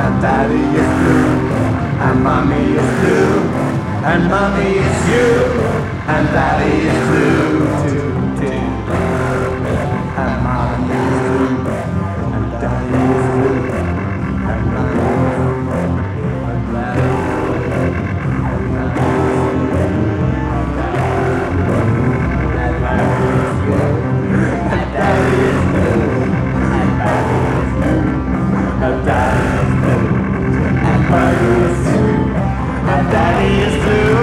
and daddy is blue, and mommy is blue, and mommy is you, and daddy is blue too, too. And mommy is blue, and daddy is blue, and mommy is blue, and daddy is blue, and daddy is blue, and daddy is blue, and daddy is blue, and daddy is blue, and daddy is blue, and daddy is blue.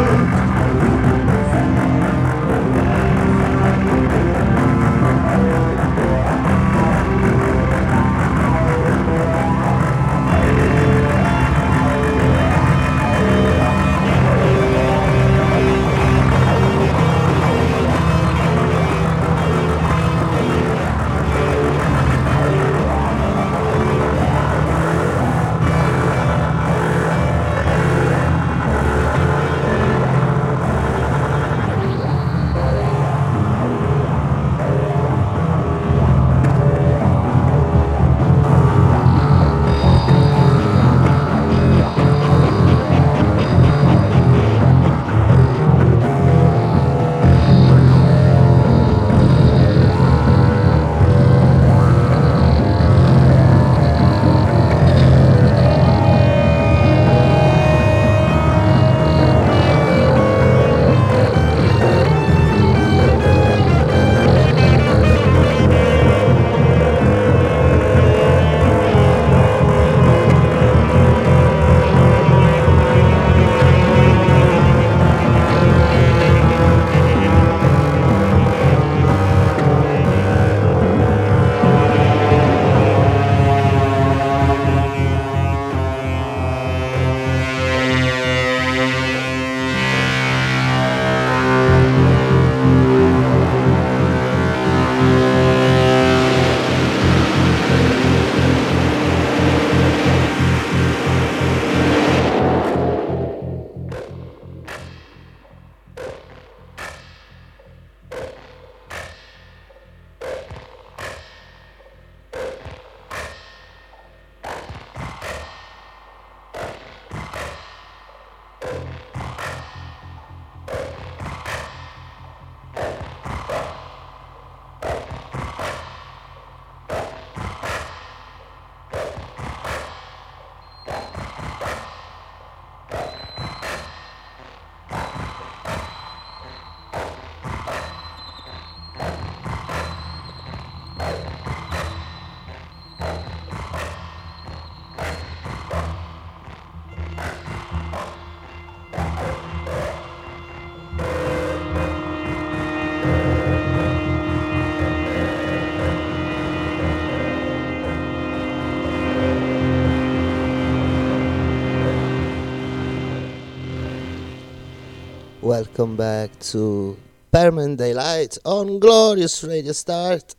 Welcome back to Permanent Daylight on Glorious Radio Start.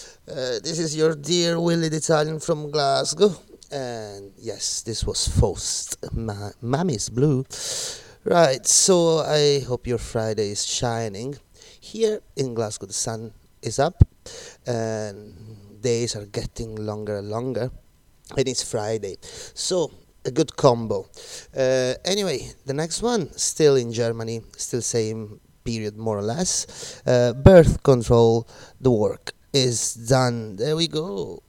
This is your dear Willie the Italian from Glasgow. And yes, this was Faust, Mommy's Blue. Right, so I hope your Friday is shining. Here in Glasgow the sun is up and days are getting longer and longer. And it's Friday. So a good combo. Anyway, the next one, still in Germany, still same period more or less. Birth Control, the work is done. There we go.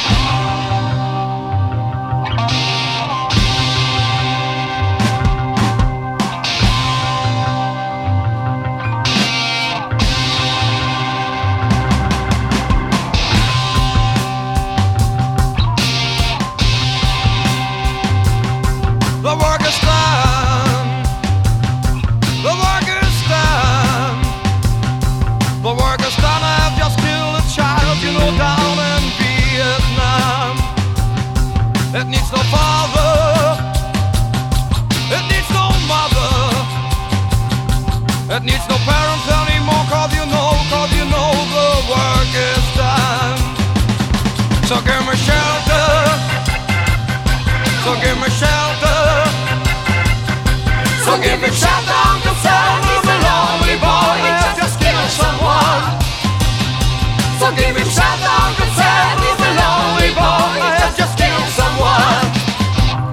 The work is done. The work is done. The work is done. I have just killed a child, you know, down in Vietnam. It needs no father. It needs no mother. It needs no parents anymore, cause you know the work is done. So give me shelter. So give me shelter. So give me shelter, Uncle Sam, I'm a lonely boy that just killed someone. So give me shelter, Uncle Sam, I'm a lonely boy that just killed someone.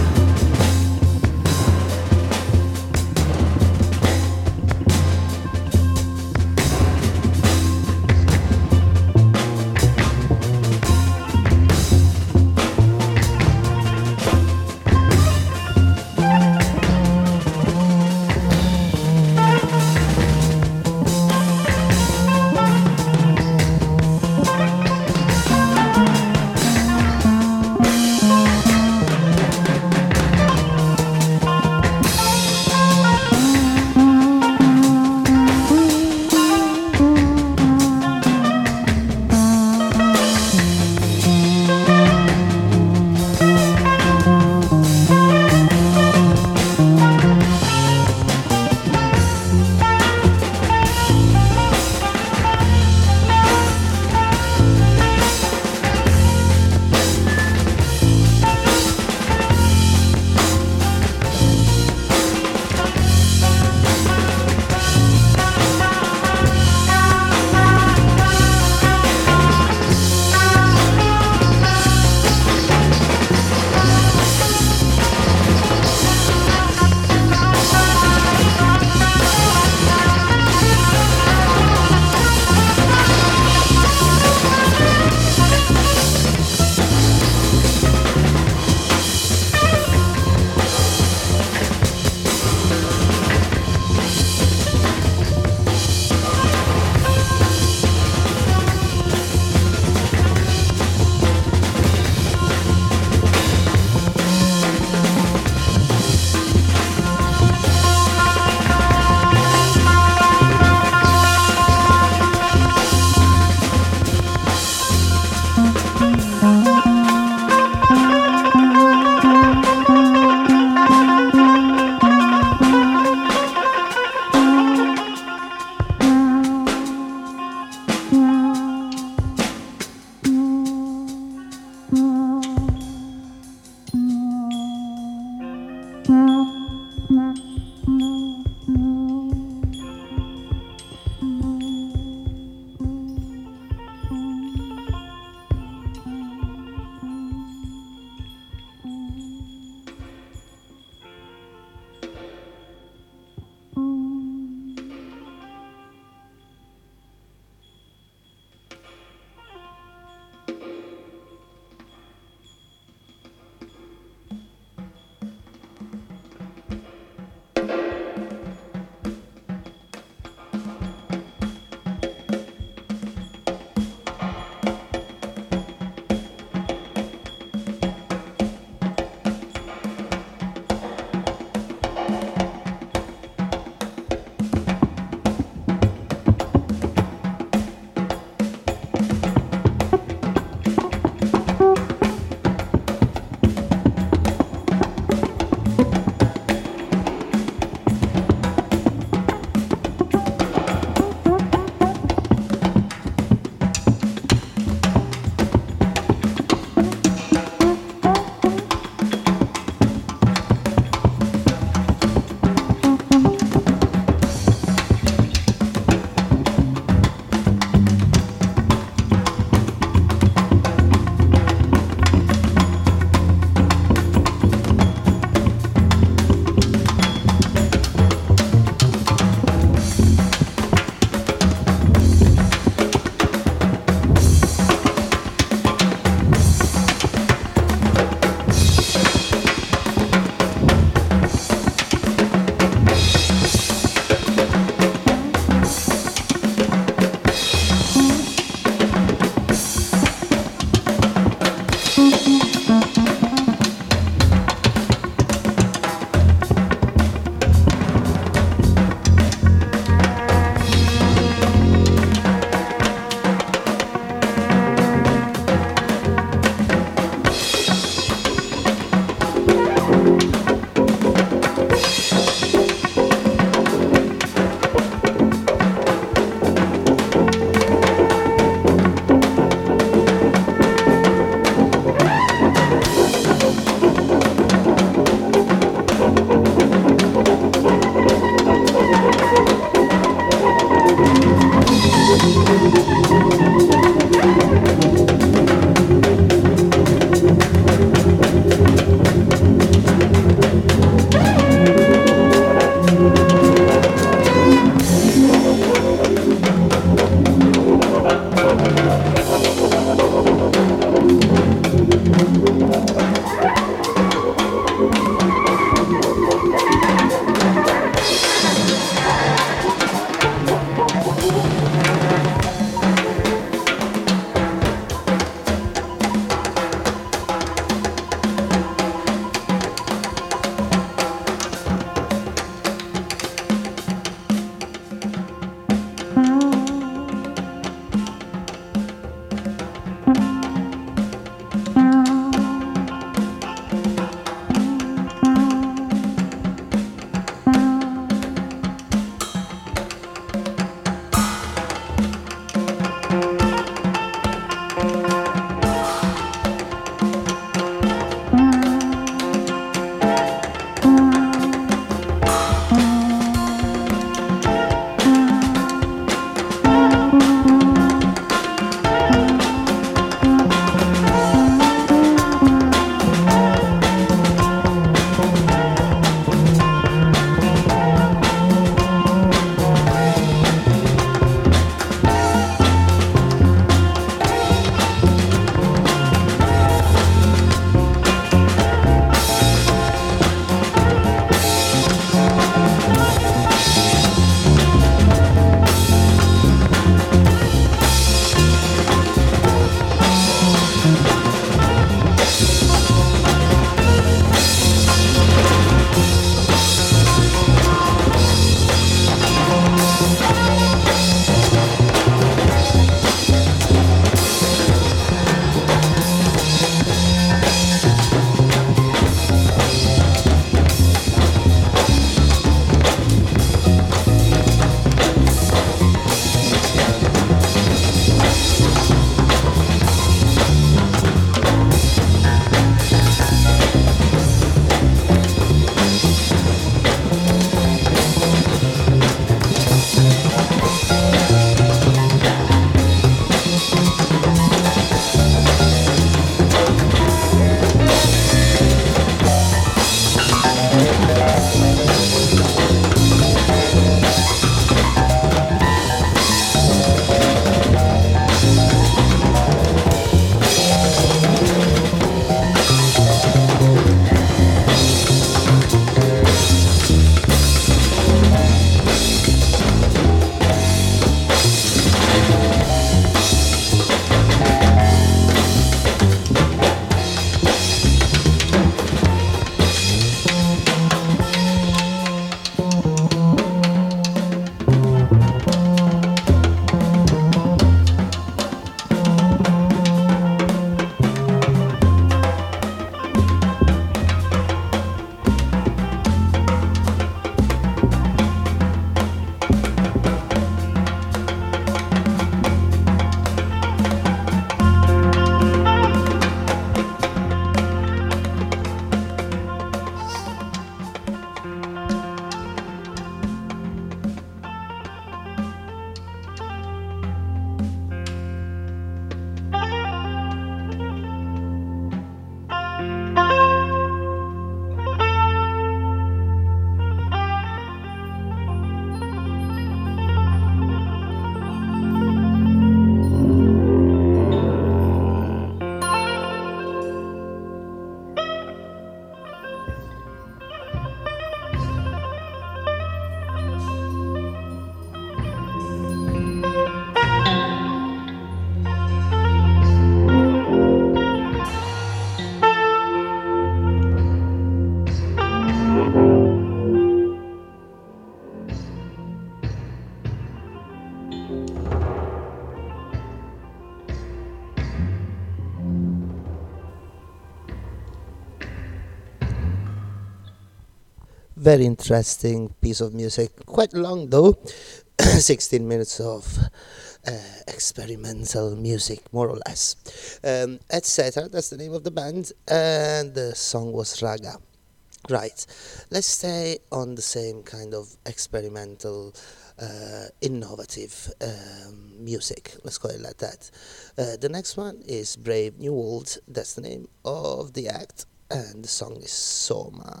Very interesting piece of music. Quite long though. 16 minutes of experimental music, more or less. Etc. That's the name of the band, and the song was Raga. Right, let's stay on the same kind of experimental, innovative music. Let's call it like that. The next one is Brave New World. That's the name of the act, and the song is Soma.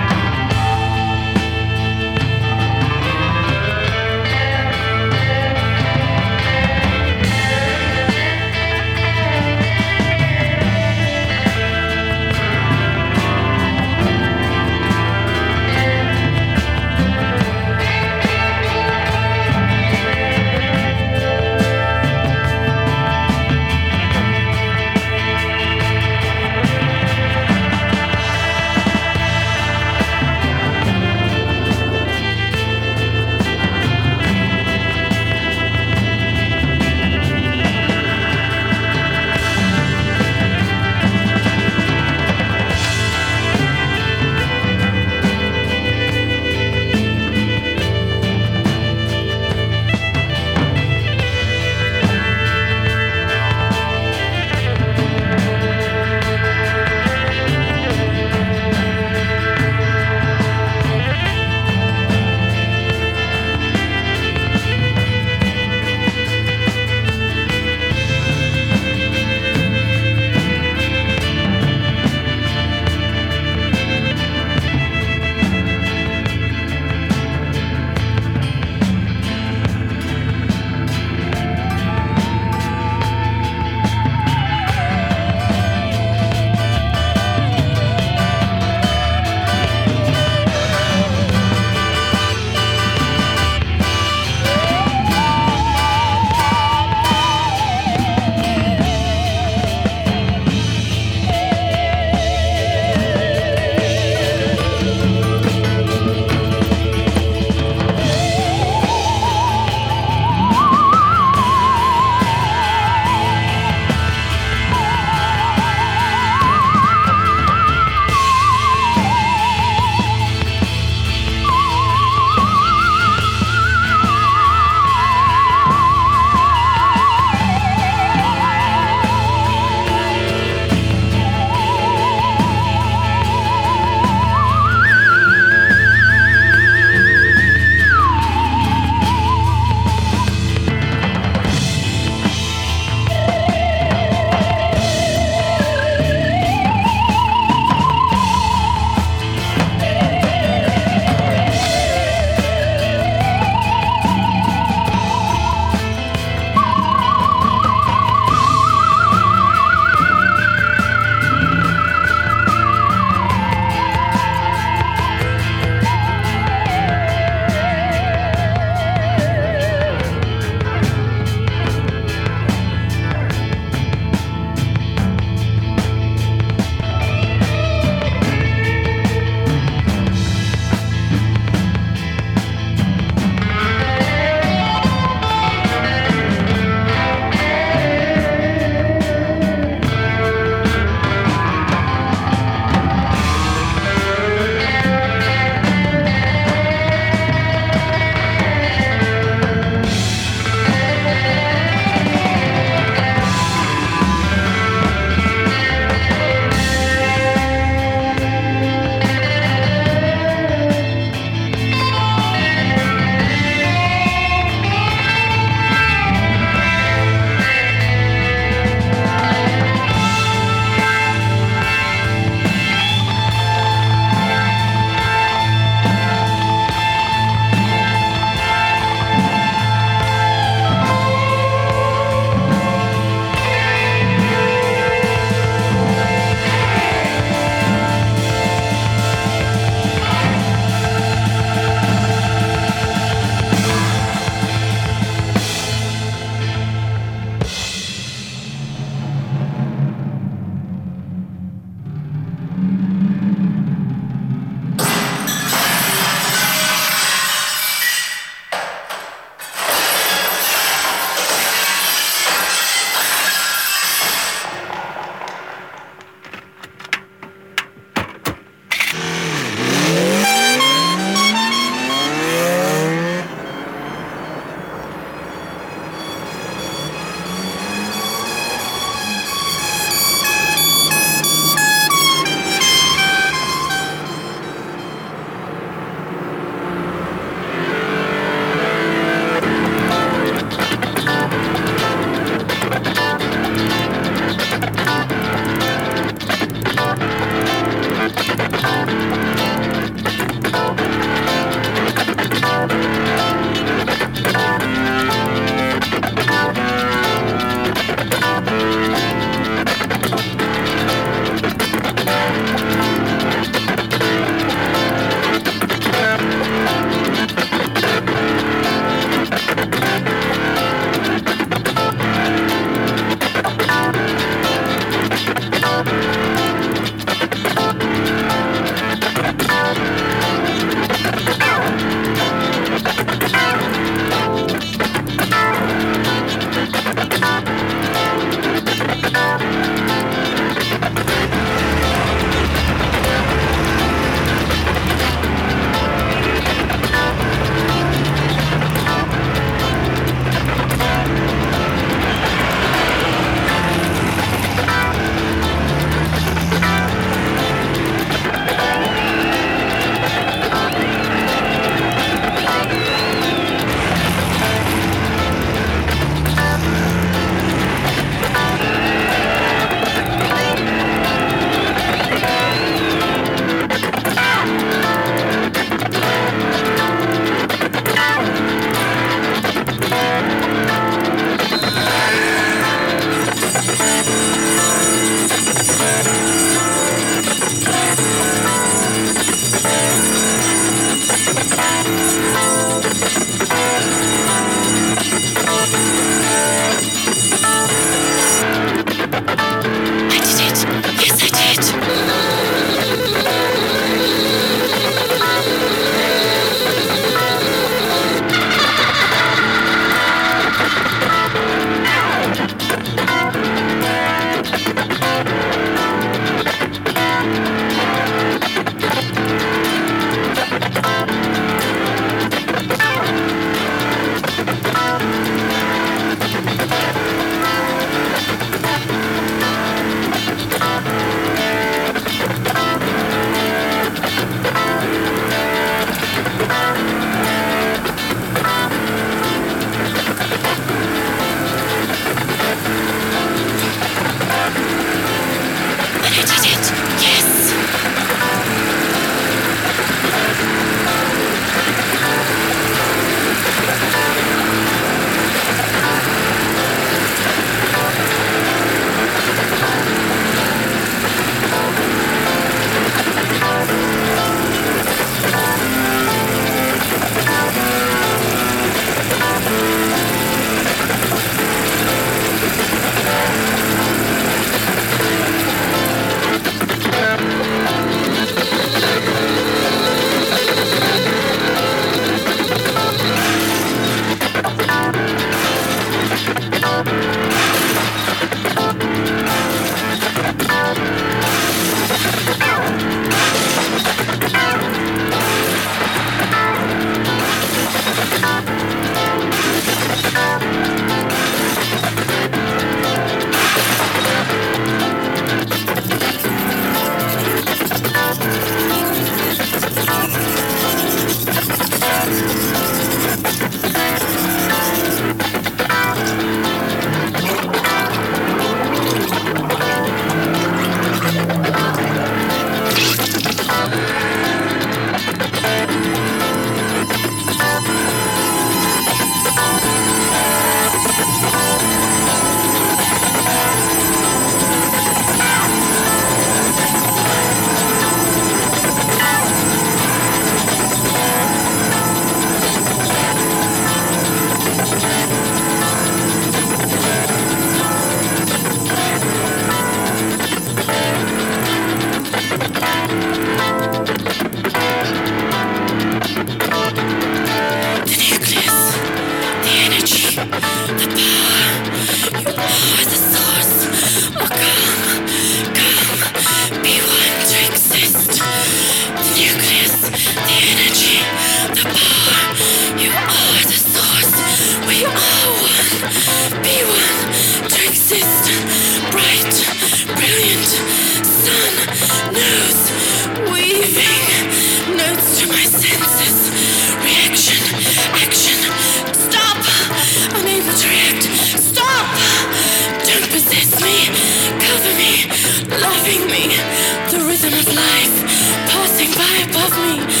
loving me, the rhythm of life passing by above me and below.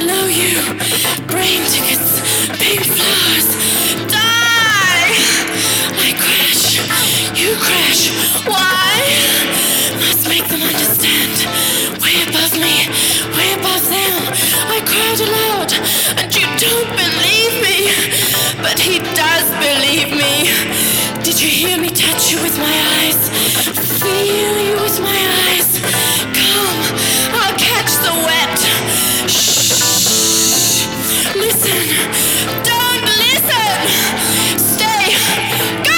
below you. Brain tickets, pink flowers. Die! I crash, you crash. Why? Must make them understand. Way above me, way above them. I cried aloud, and you don't believe me. But he does believe me. Did you hear me touch you with my eyes? Feel you with my eyes. Come, I'll catch the wet. Shh. Listen. Don't listen. Stay. Go!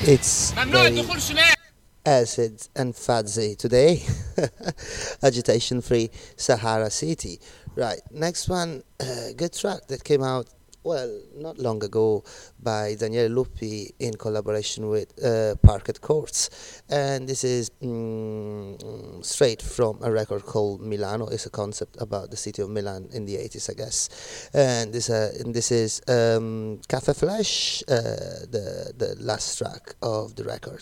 It's very acid and fuzzy today. Agitation free Sahara City. Right, next one, good track that came out, well, not long ago by Daniele Luppi in collaboration with Parquet Courts. And this is straight from a record called Milano. It's a concept about the city of Milan in the 80s, I guess. And this is Cafe Flash, the last track of the record.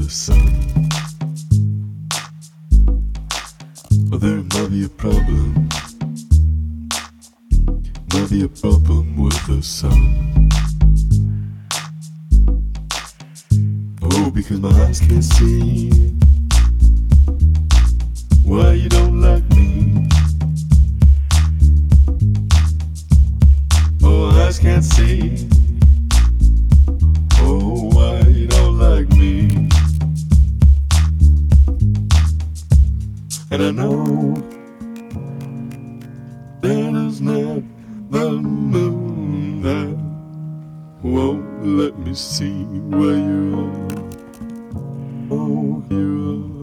the sun. Well, there might be a problem. Might be a problem with the sun. Oh, because my eyes can't see why you don't like me. Oh, eyes can't see. Oh, why you don't like me? And I know that it's not the moon that won't let me see where you are. Oh, you are.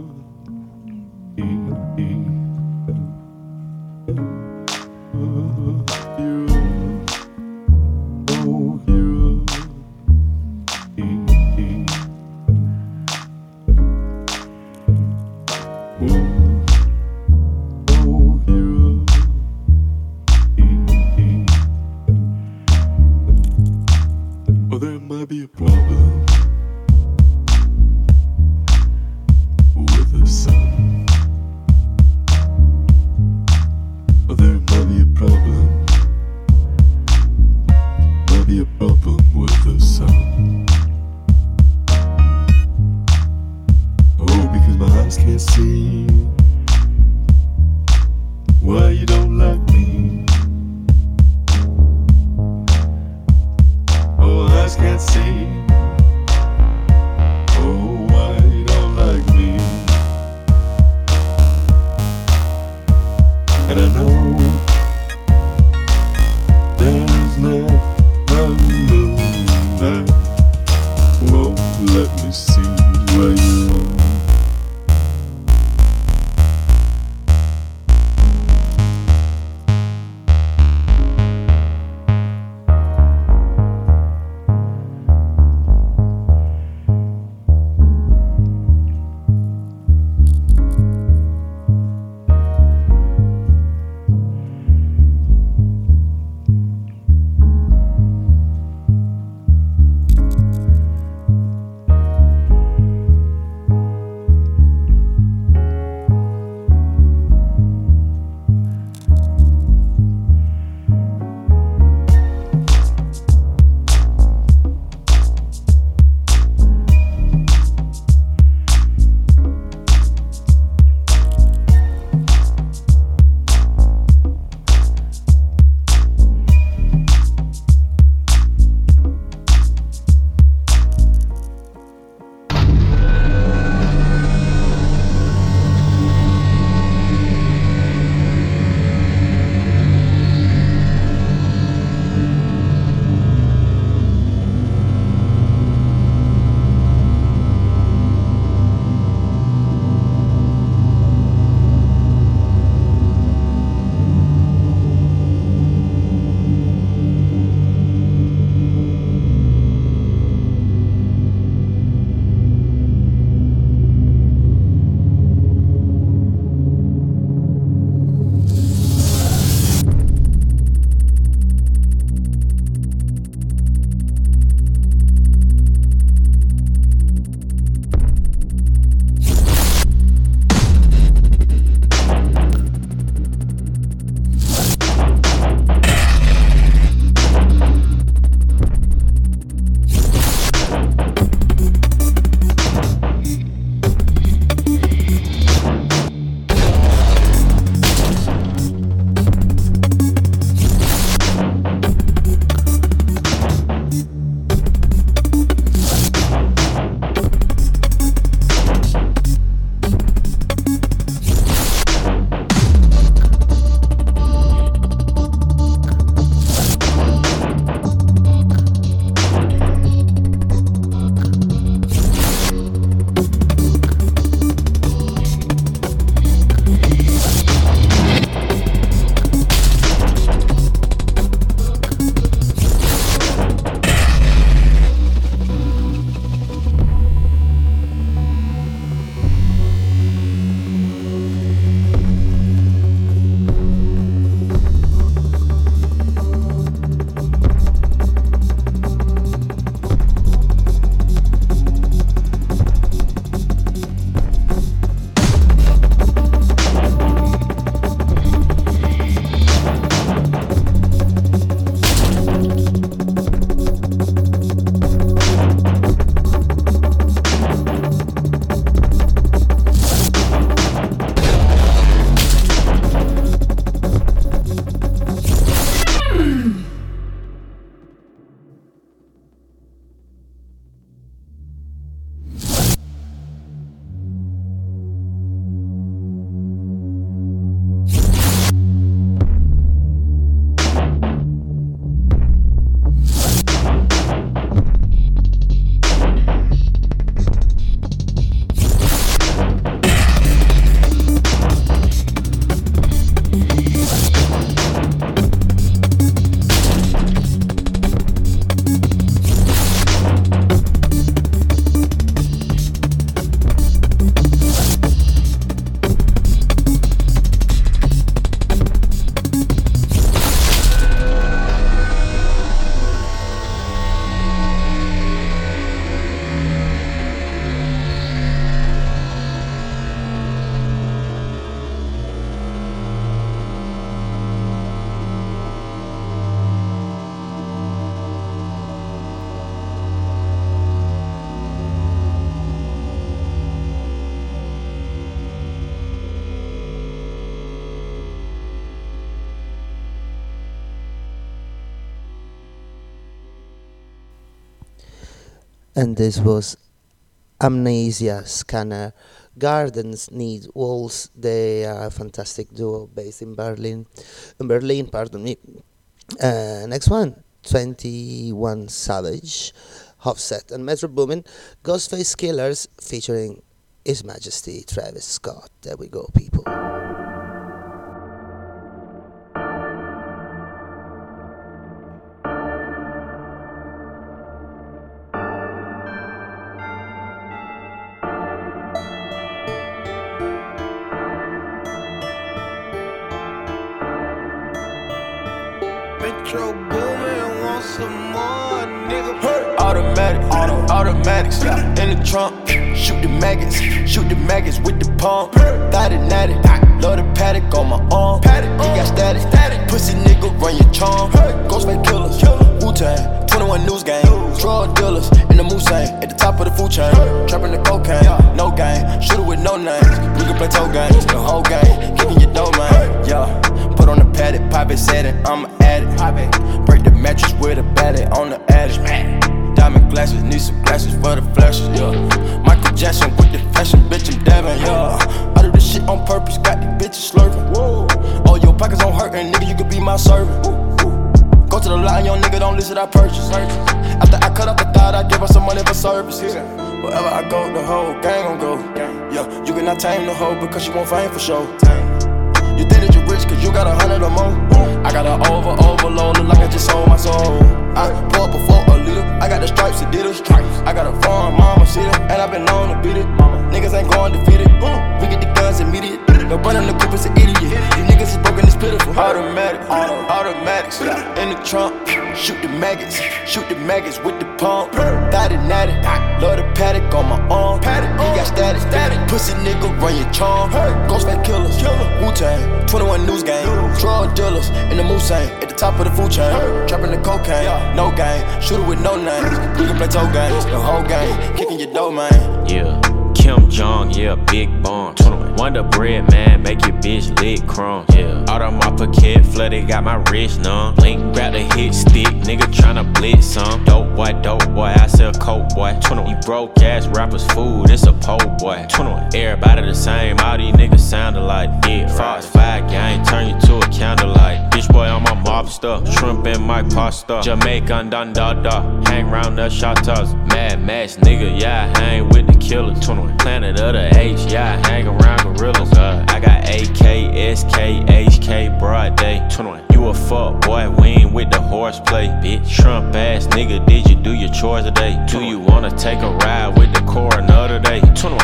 Well, there might be a problem with the sun. Well, there might be a problem. Might be a problem with the sun. Oh, because my eyes can't see why you don't like me. Oh, eyes can't see. Oh, why you don't like me? And I know there's not a moon that won't let me see where you are. And this was Amnesia Scanner. Gardens Need Walls. They are a fantastic duo based in Berlin. In Berlin, pardon me. Next one, 21 Savage, Offset and Metro Boomin, Ghostface Killers featuring His Majesty Travis Scott. There we go, people. Metro Boomin, want some more, nigga. Automatics, in the trunk. Shoot the maggots with the pump. Thought it natty, love the paddock on my arm. He got static, pussy nigga run your charm. Ghostface killers, Wu-Tang, 21 News Gang. Drug dealers in the Mulsanne, at the top of the food chain. Trapping the cocaine, no game. Shooter with no names. We can play toe games, the whole game. Kicking your dough, man. Yeah. Put on the paddock, pop it, set it, I'm an addict. Break the mattress with a battery on the addict. Diamond glasses, need some glasses for the flashes, yeah. Michael Jackson with the fashion, bitch, I'm dabbing, yeah. I do this shit on purpose, got these bitches slurping. All your pockets on hurtin', nigga, you could be my servant. Go to the line, young nigga, don't listen, I purchase. After I cut off the thought, I give her some money for services. Wherever I go, the whole gang gon' go. Yeah, you cannot tame the hoe because she won't fame for show. You think that you rich cause you got 100 or more. I got an overload, look like I just sold my soul. I pour up before a liter, I got the stripes, Adidas. I got a farm, mama, see it, and I been known to beat it. Niggas ain't going defeated, we get the guns immediate. No running the coupe is an idiot, these niggas is broken, it's pitiful. Automatics, in the trunk. Shoot the maggots with the pump. Thought it natty, love the paddock on my arm. He got static, pussy nigga run your charm. Ghostface killers, Wu-Tang, 21 News Gang. Drug dealers in the Mulsanne, at the top of the food chain. Trapping the cocaine, no game. Shooter with no names. We can play toe games, the whole game. Kicking your dough, man. Yeah. Kim Jong, yeah, big bomb. Wonder bread, man, make your bitch lick crumb. Yeah, out of my pocket, flooded, got my wrist numb. Blink, grab the hit stick, nigga tryna blitz some. Dope boy, I sell coke, boy. You broke ass rappers, food, it's a po' boy. Everybody the same, all these niggas sounded like dick. Fox 5 gang, turn you to a candlelight. Bitch boy on my mobster, shrimp in my pasta. Jamaican dun da da, hang round the shotters. Mad Max, nigga, yeah, I hang with the killer. Planet of the H, yeah, I hang around gorillas. I got AK, SK, HK, broad day. You a fuck boy, we ain't with the horseplay. Bitch, Trump ass nigga, did you do your chores today? Do you wanna take a ride with the coroner today?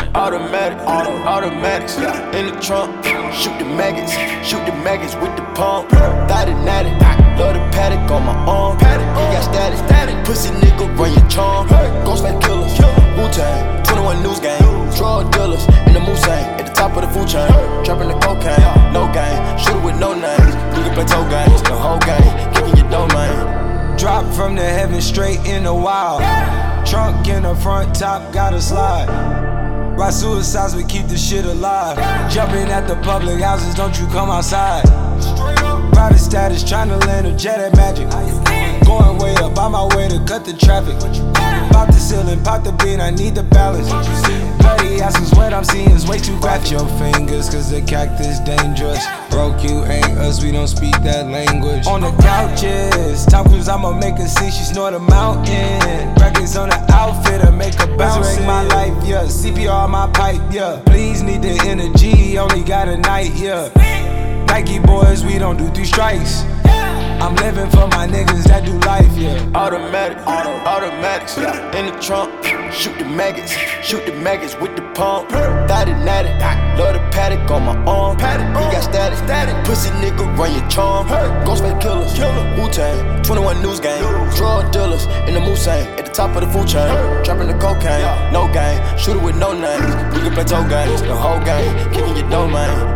Automatics, in the trunk. Shoot the maggots with the pump. Thought it natty, love the paddock on my arm. He got static, pussy nigga run your charm. Ghostface killers, Wu-Tang, 21 News Gang. Drug dealers in the Mulsanne, at the top of the food chain. Trapping the cocaine, no game. Shooter with no names. We can play toe games, the whole game. Kicking your dough, man. Drop from the heavens straight in the wild. Trunk in the front, top gotta slide. Ride suicides, we keep the shit alive. Jumping at the public houses, don't you come outside. Private status, tryna land a jet at Magic. Going way up, on my way to cut the traffic. Pop the ceiling, pop the beat, I need the balance. Bloody asses, what I'm seeing is way too graphic. Your fingers, cause the cactus dangerous. Broke, you ain't us, we don't speak that language. On the couches, Tom Cruise, I'ma make a scene, she snort a mountain. Records on the outfit, I make her bounce. Resurrect my life, yeah, CPR my pipe, yeah. Please need the energy, only got a night, yeah. Nike boys, we don't do 3 strikes. I'm living for my niggas that do life, yeah. Automatics, in the trunk. Shoot the maggots with the pump. Thought it natty, love the paddock on my arm. He got static, pussy nigga run your charm. Ghostface killers, Wu-Tang, 21 News Gang. Drug dealers in the Mulsanne, at the top of the food chain. Trapping the cocaine, no game. Shooter with no names. We can play toe games, the whole game. Kicking your dough, man.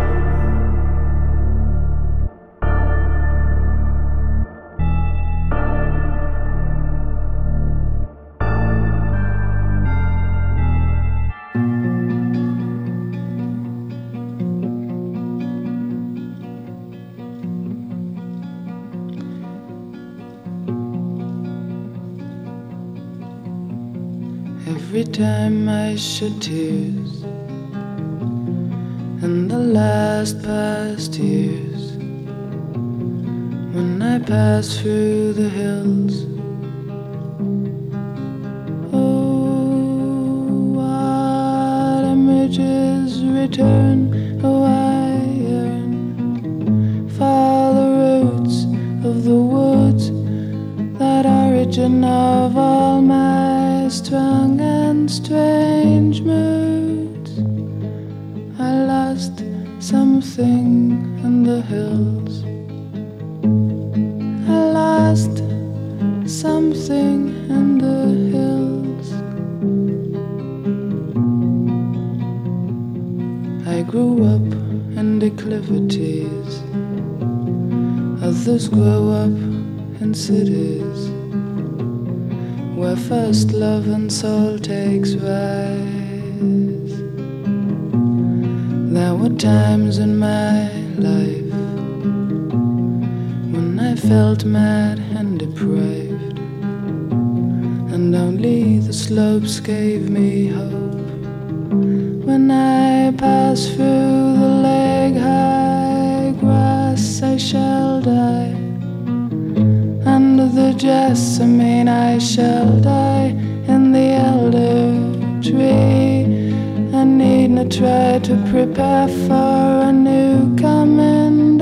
every time I shed tears in the last past years, when I pass through the hills. Oh, what images return, oh, I yearn for the roots of the woods, that origin of all my strong and strange moods. I lost something in the hills. I lost something in the hills. I grew up in declivities, others grow up in cities, where first love and soul takes rise. There were times in my life when I felt mad and depraved, and only the slopes gave me hope. When I pass through the leg-high grass, I shall die. Under the jessamine I shall die. In the elder tree I need not try to prepare for a new coming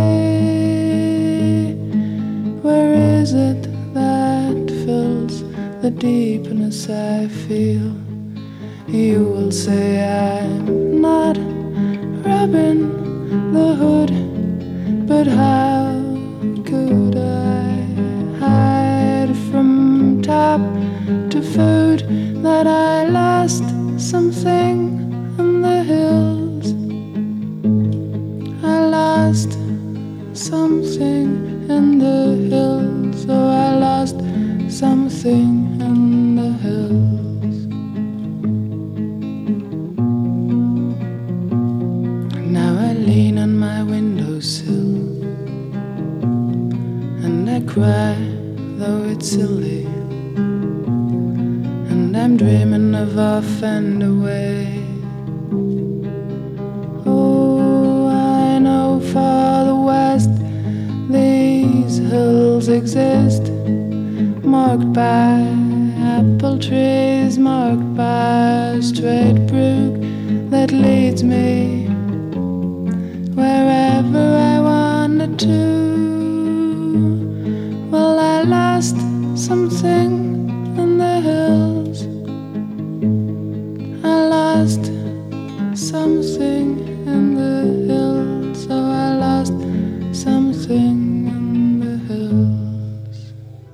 day. Where is it that fills the deepness I feel? You will say I'm not Robin the Hood, but how could I hide from top to food that I lost something in the hills? I lost something in the hills. Oh, I lost something in the hills. Now I lean on my windowsill and I cry, though it's silly, and I'm dreaming of off and away. Oh, I know far the west these hills exist, marked by apple trees, marked by a straight brook that leads me wherever I wanted to. Well, I lost something in the hills. I lost something in the hills. Oh, I lost something in the hills.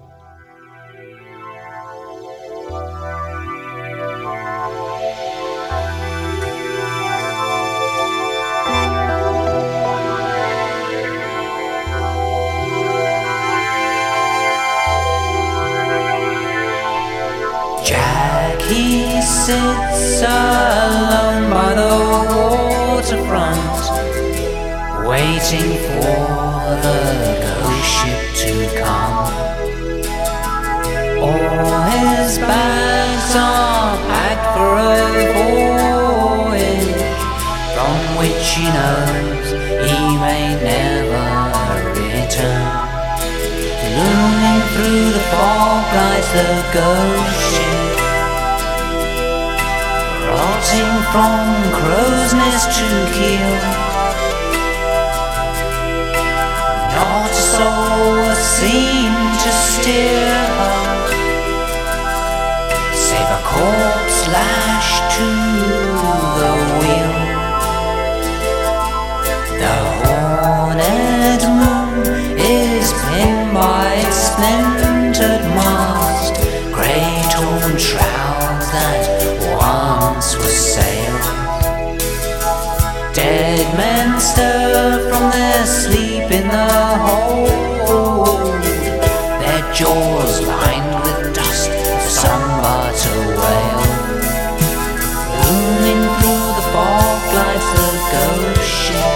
He sits alone by the waterfront, waiting for the ghost ship to come. All his bags are packed for a voyage from which he knows he may never return. Looming through the fog lies the ghost ship, rotting from crow's nest to keel. Not a soul seemed to steer her, save a corpse lashed to the wheel. The horned moon is pinned by its splintered mast, grey torn shrouds that once was sailed. Dead men stir from their sleep in the hold, their jaws lined with dust, some but a whale. Looming through the fog glides the ghost ship,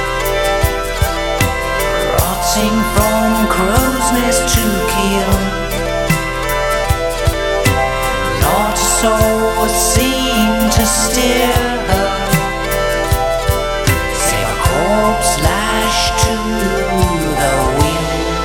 rotting from crow's nest to keel. Not a soul steer her. Save a corpse lashed to the wheel.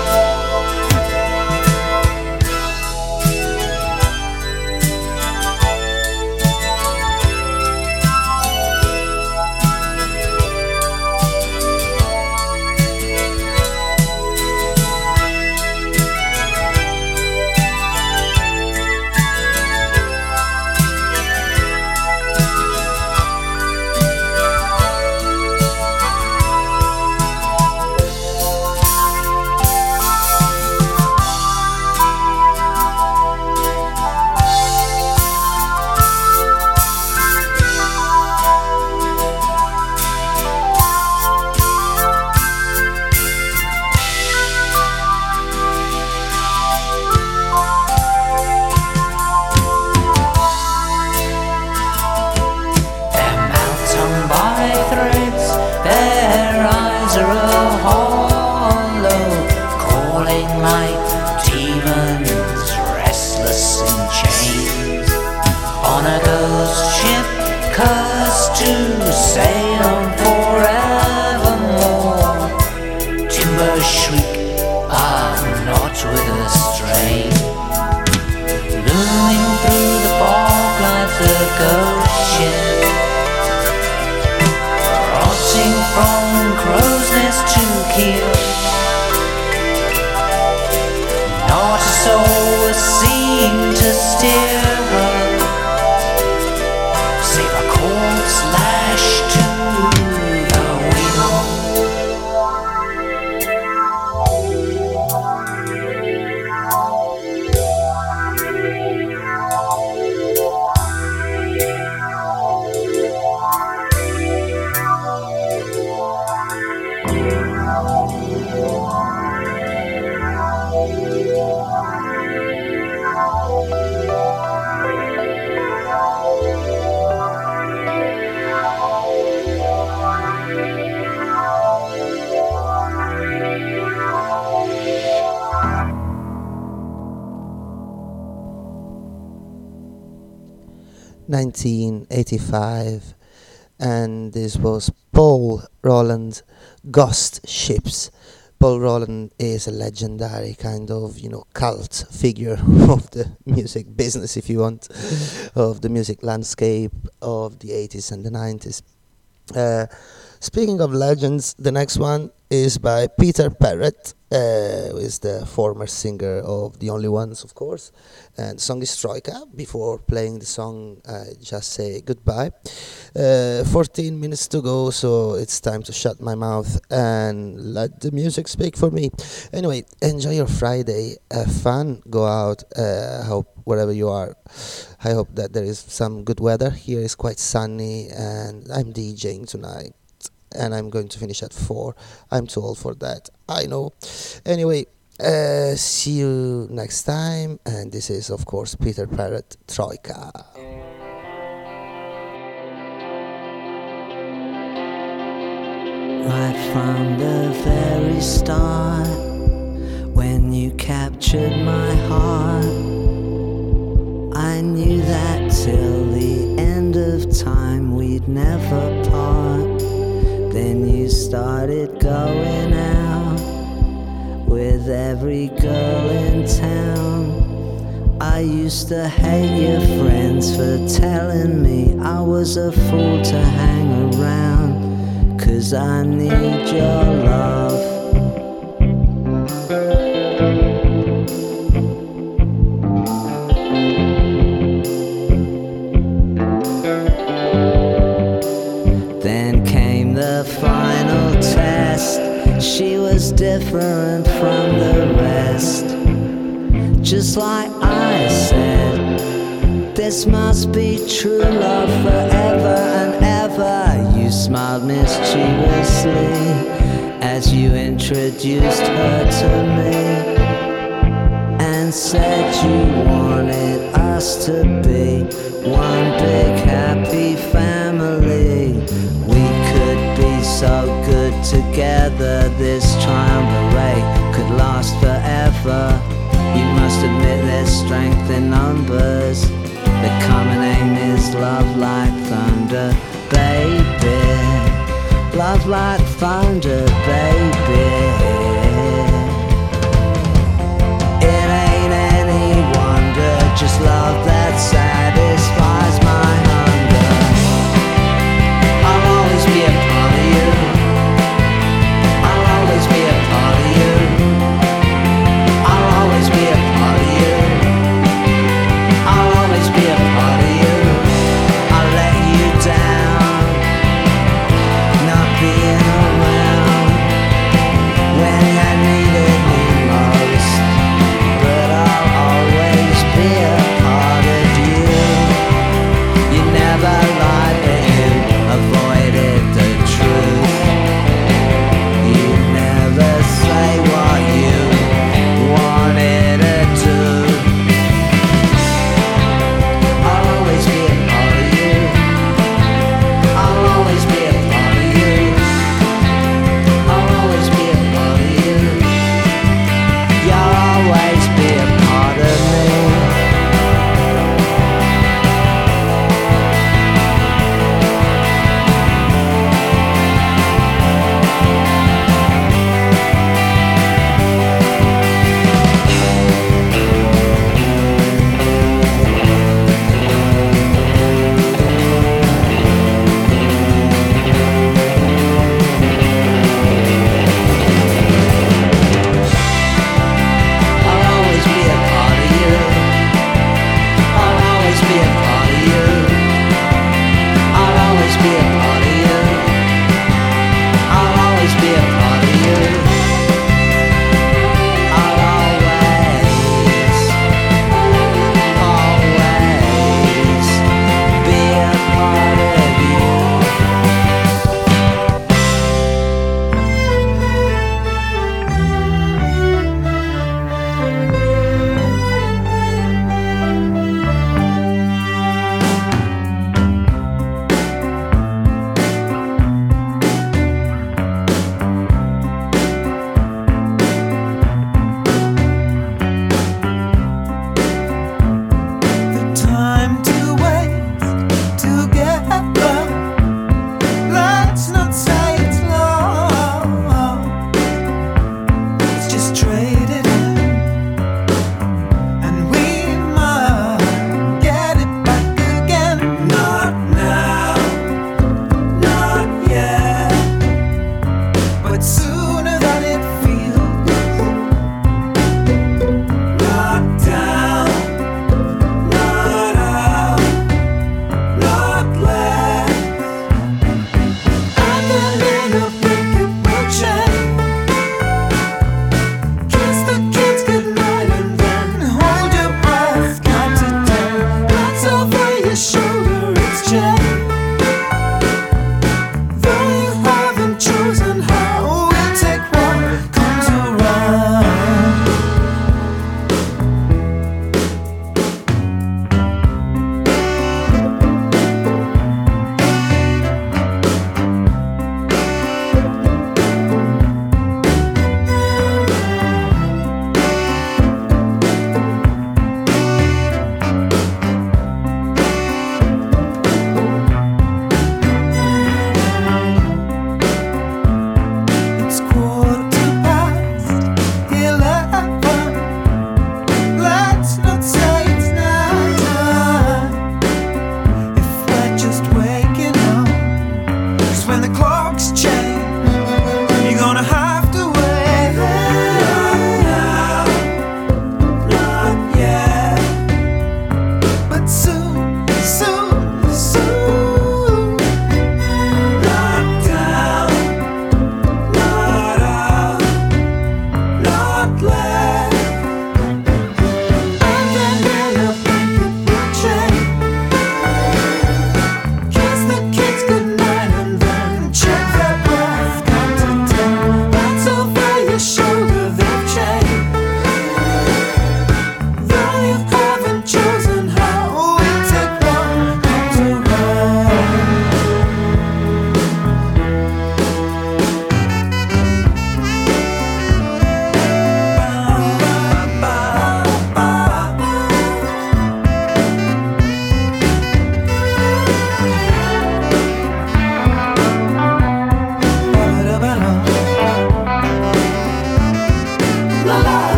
(1985), and this was Paul Roland, Ghost Ships. Paul Roland is a legendary kind of, cult figure of the music business, if you want, of the music landscape of the 80s and the 90s. Speaking of legends, the next one is by Peter Perrett, who is the former singer of The Only Ones, of course. And the song is Troika. Before playing the song, I just say goodbye. 14 minutes to go, so it's time to shut my mouth and let the music speak for me. Anyway, enjoy your Friday. Have fun. Go out. Hope wherever you are, I hope that there is some good weather. Here is quite sunny, and I'm DJing tonight. And I'm going to finish at 4. I'm too old for that, I know. Anyway, see you next time. And this is, of course, Peter Perrett, Troika. Right from the very start, when you captured my heart, I knew that till the end of time we'd never part. Then you started going out with every girl in town. I used to hate your friends for telling me I was a fool to hang around, 'cause I need your love. Then came the final test. She was different from the rest. Just like I said, this must be true love forever and ever. You smiled mischievously as you introduced her to me, and said you wanted us to be one big happy family. We could be so good together, this triumvirate could last forever. You must admit there's strength in numbers. The common aim is love like thunder, baby. Love like thunder, baby. It ain't any wonder, just love that satisfies my hunger. I'll always be a part of you. I'll always be a part of you. I'll always be a part of you. I'll always be a part of you. I'll let you down, not being around when you needed me most. But I'll always be a part of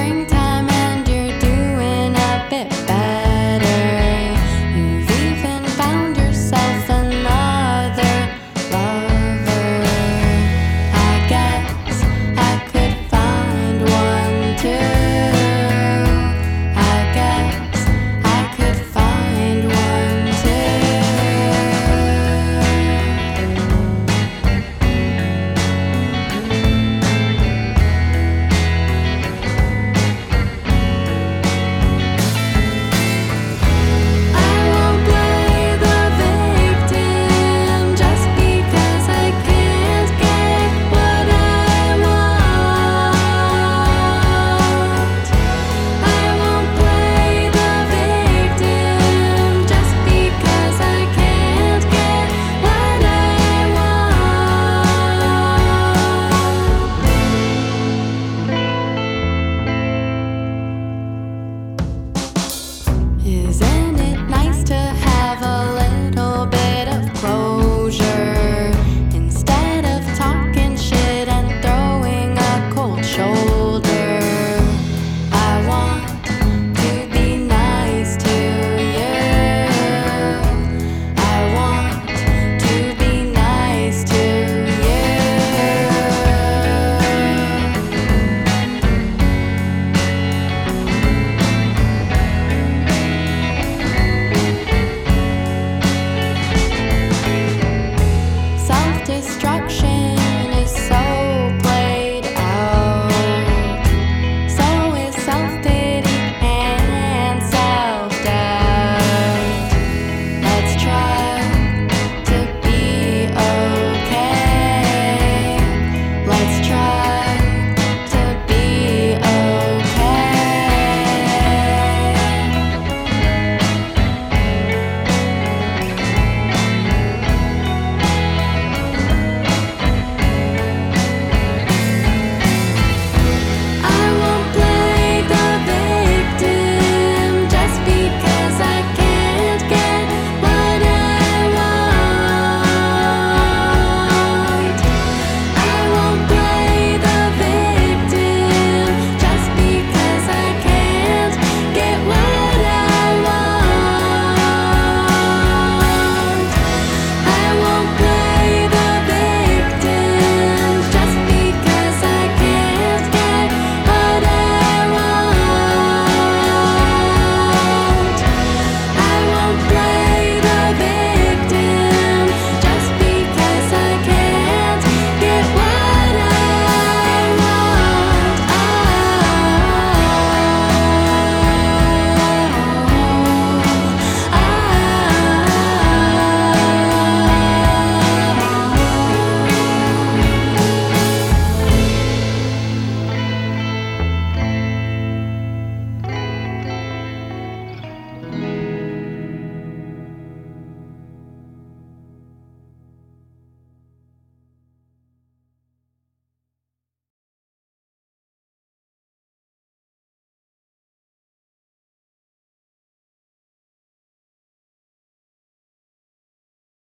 springtime.